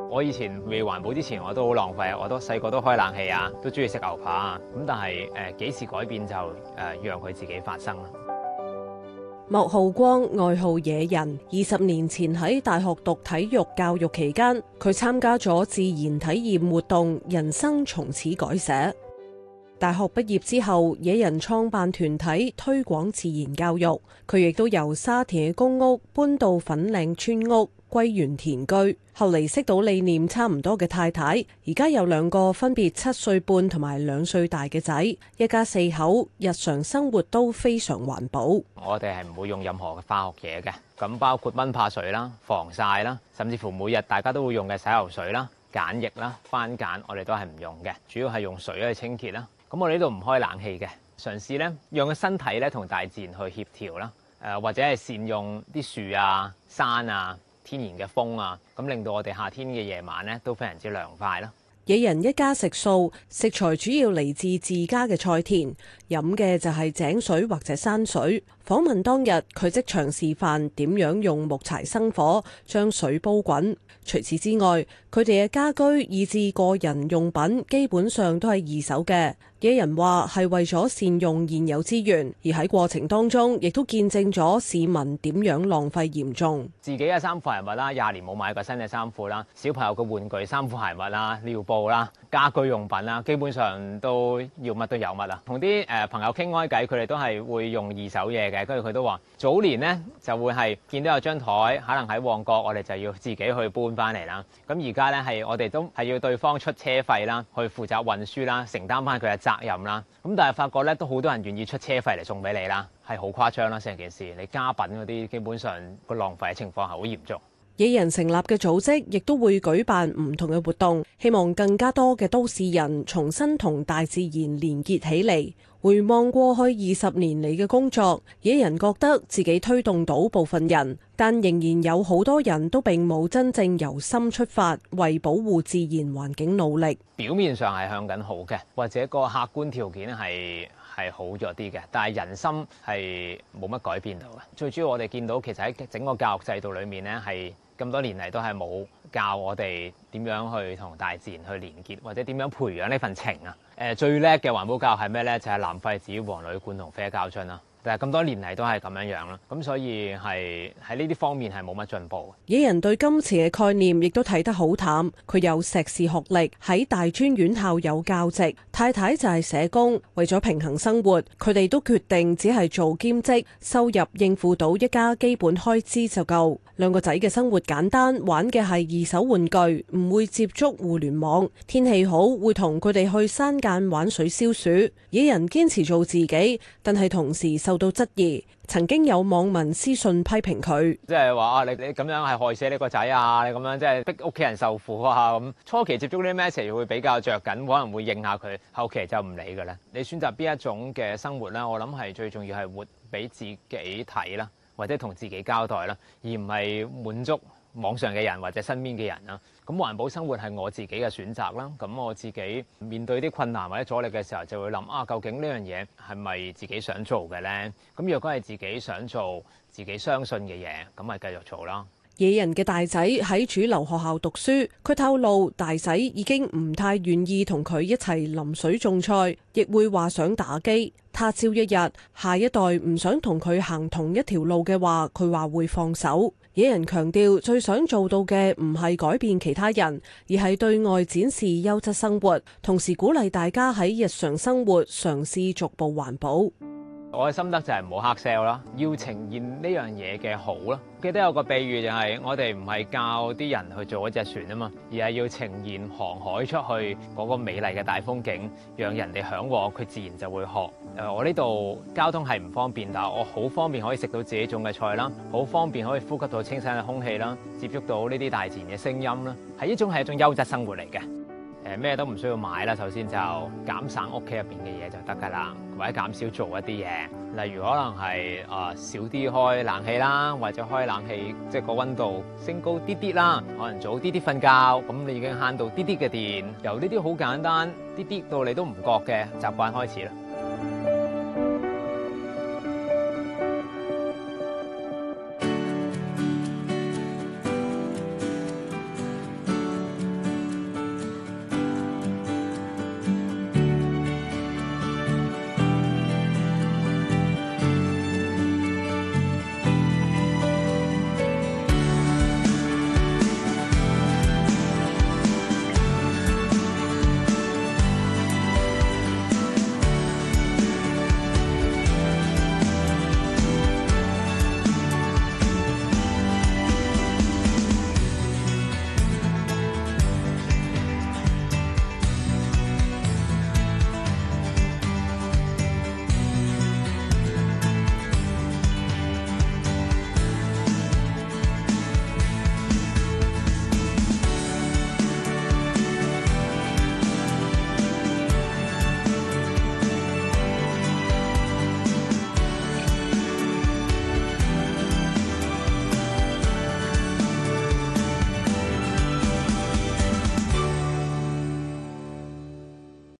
我以前未環保之前，我都好浪費，我都細個都開冷氣啊，都中意食牛扒啊。咁但係幾時改變就讓佢自己發生啦。 莫浩光外號野人，20年前喺大學讀體育教育期間，佢參加咗自然體驗活動，人生從此改寫。大學畢業之後，野人創辦團體推廣自然教育，佢亦都由沙田嘅公屋搬到粉嶺村屋歸園田居，後嚟識到理念差唔多嘅太太，而家有2個分別7歲半同埋2歲大嘅仔，一家4口，日常生活都非常環保。 我哋係唔會用任何嘅化學嘢嘅，咁包括蚊怕水啦、防曬啦，甚至乎每日大家都會用嘅洗頭水啦、鹼液啦、番鹼，我哋都係唔用嘅，主要係用水去清潔啦。咁我哋呢度唔開冷氣嘅，嘗試咧讓個身體咧同大自然去協調啦，或者係善用啲樹啊、山啊、天然嘅風啊，咁令到我哋夏天嘅夜晚咧都非常之涼快啦。 野人一家食素，食材主要嚟自自家嘅菜田，飲嘅就係井水或者山水。訪問當日，佢即場示範點樣用木柴生火，將水煲滾。除此之外，佢哋嘅家居以至個人用品基本上都係二手嘅。野人話係為咗善用現有資源，而喺過程當中亦都見證咗市民點樣浪費嚴重。 自己嘅衫褲鞋襪啦，20年冇買過新嘅衫褲啦，小朋友嘅玩具、衫褲鞋襪啦、尿布啦、家居用品啦，基本上都要乜都有乜啦。同啲朋友傾開偈，佢哋都係會用二手嘢嘅，跟住佢都話早年呢就會係見到有張台，可能喺旺角，我哋就要自己去搬翻嚟啦。咁而家呢係我哋都係要對方出車費啦，去負責運輸啦，承擔翻佢嘅責任啦。咁但係發覺咧，都好多人願意出車費嚟送俾你啦，係好誇張啦成件事。你家品嗰啲基本上個浪費嘅情況係好嚴重。 野人成立嘅組織亦都會舉辦唔同嘅活動，希望更加多嘅都市人重新同大自然連結起嚟。回望過去20年嚟嘅工作，野人覺得自己推動到部分人，但仍然有好多人都並冇真正由心出發，為保護自然環境努力。 表面上係向緊好嘅，或者個客觀條件係好咗啲嘅，但係人心係冇乜改變到嘅。最主要我哋見到其實喺整個教育制度裏面呢，係咁多年嚟都係冇教我哋點樣去同大自然去連結，或者點樣培養呢份情啊。最叻嘅環保教育係咩呢？就係藍廢紙、黃鋁罐同啡膠樽啦。但係咁多年嚟都係咁樣樣啦，咁所以係喺呢啲方面係冇乜進步。 野人對金錢嘅概念亦都睇得好淡，佢有碩士學歷，喺大專院校有教職，太太就係社工。為咗平衡生活，佢哋都決定只係做兼職，收入應付到一家基本開支就夠。2個仔嘅生活簡單，玩嘅係二手玩具，唔會接觸互聯網。天氣好會同佢哋去山間玩水消暑。野人堅持做自己，但係同時受到質疑。曾經有網民私信批評佢， 即係話你咁樣係害死你個仔啊！你咁樣即係逼屋企人受苦啊！咁初期接觸呢啲 message 會比較着緊，可能會應下佢，後期就唔理㗎啦。你選擇邊一種嘅生活咧？我諗係最重要係活俾自己睇啦，或者同自己交代啦，而唔係滿足網上嘅人或者身邊嘅人啦。咁環保生活係我自己嘅選擇啦。咁我自己面對啲困難或者阻力嘅時候，就會諗究竟呢樣嘢係咪自己想做嘅呢？咁若果係自己想做、自己相信嘅嘢，咁咪繼續做啦。 野人嘅大仔喺主流學校讀書，佢透露大仔已經唔太願意同佢一齊淋水種菜，亦會話想打機。他朝一日，下一代唔想同佢行同一條路嘅話，佢話會放手。野人強調，最想做到嘅唔係改變其他人，而係對外展示優質生活，同時鼓勵大家喺日常生活嘗試逐步環保。 我嘅心得就係唔好黑 sell 啦，要呈現呢樣嘢嘅好啦。記得有個比喻就係我哋唔係教啲人去做一隻船啊嘛，而係要呈現航海出去嗰個美麗嘅大風景，讓人哋嚮往，佢自然就會學。我呢度交通係唔方便，但係我好方便可以食到自己種嘅菜啦，好方便可以呼吸到清新嘅空氣啦，接觸到呢啲大自然嘅聲音啦，係一種優質生活嚟嘅。咩都唔需要買啦，首先就減省屋企入邊嘅嘢就得㗎啦，或者減少做一啲嘢，例如可能係少啲開冷氣啦，或者開冷氣即係個溫度升高啲啲啦，可能早啲啲瞓覺，咁你已經慳到啲啲嘅電，由呢啲好簡單啲啲到你都唔覺嘅習慣開始啦。